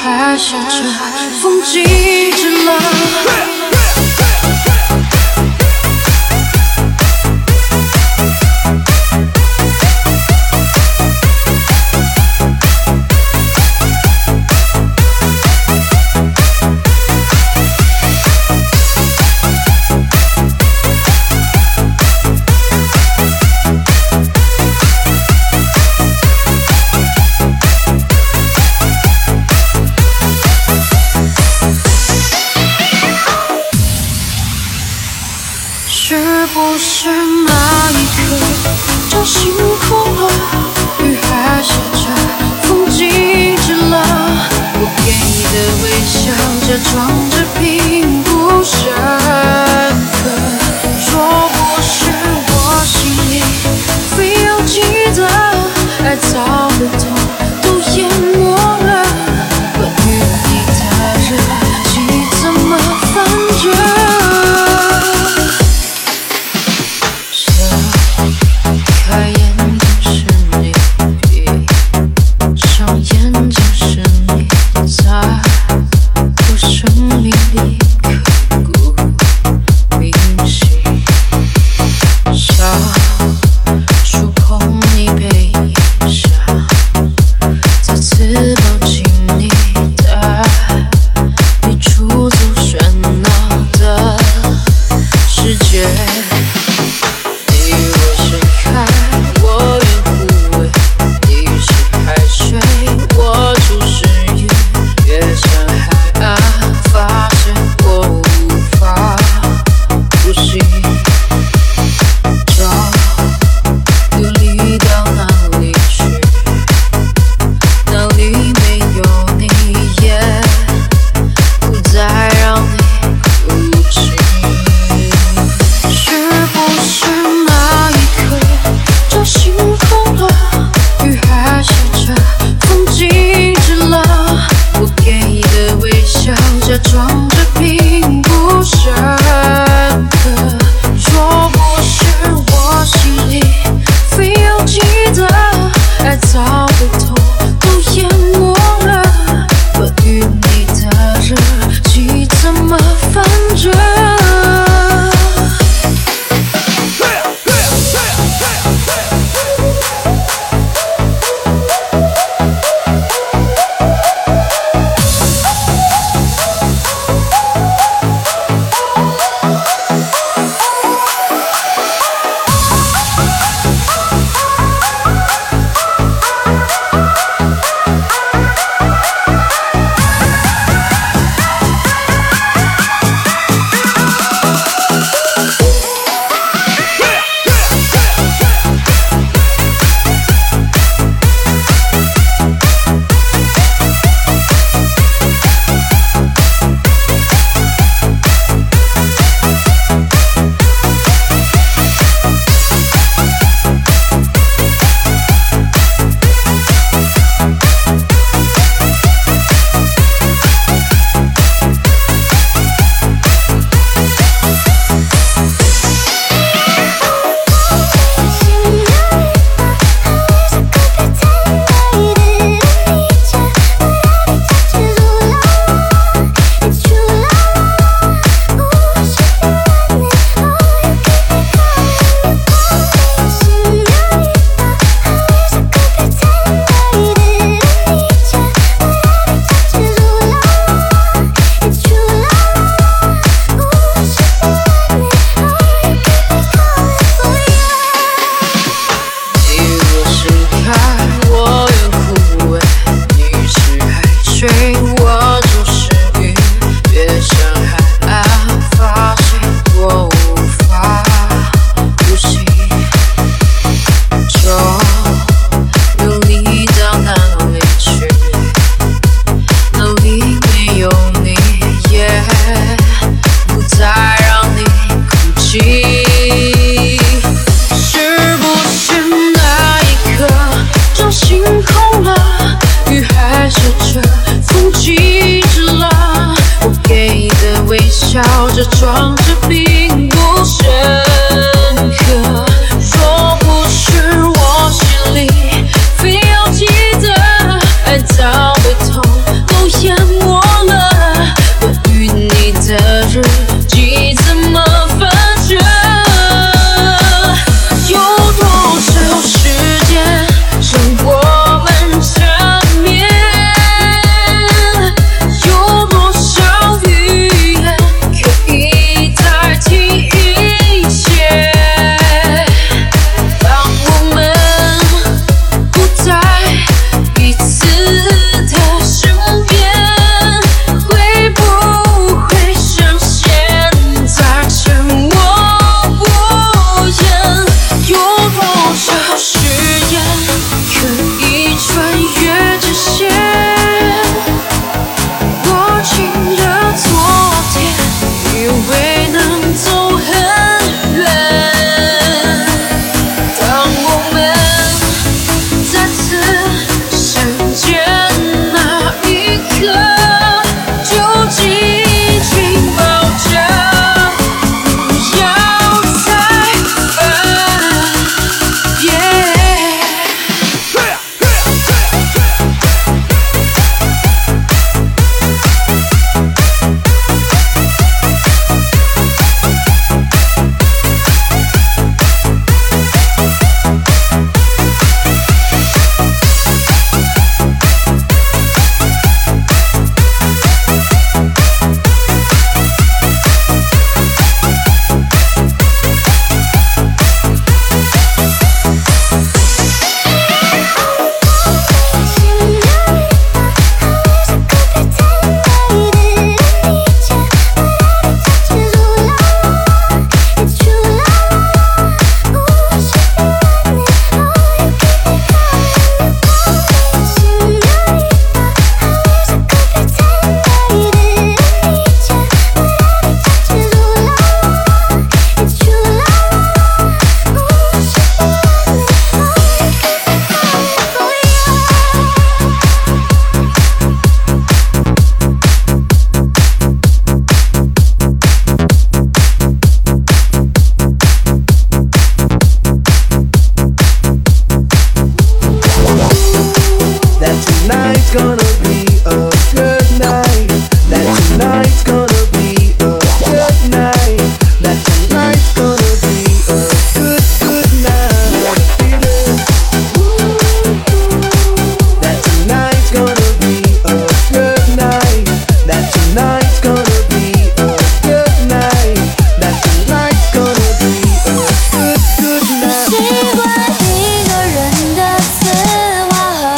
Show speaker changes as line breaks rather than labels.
还写着风静止了。是不是那一刻就星空了，雨还下着，风静止了？我给你的微笑假装着并不深刻，若不是我心里非要记得，爱早的痛都淹没了。关于你的日记怎么翻着？开眼睛是你，闭上眼睛是你，在我生命里刻骨铭心。想触碰你背影下，再次抱紧你，带你出走喧闹的世界。我愿枯萎，你是海水，我就是云，越向海岸，发现我无法呼吸。找流离到哪里去？哪里没有你，也不再让你哭泣。是不是那一刻就星空了，雨还下着，风静止了？我给你的微笑假装着并不深刻，若不是我心里非要记得，爱早的痛都淹没了。关于你的日记怎么翻着？我就是云，越向海岸，发现我无法呼吸。就流离到哪里去？哪里没有你，也不再让你哭泣。是不是那一刻就星空了，雨还下着，风静止了？我给你的微笑着装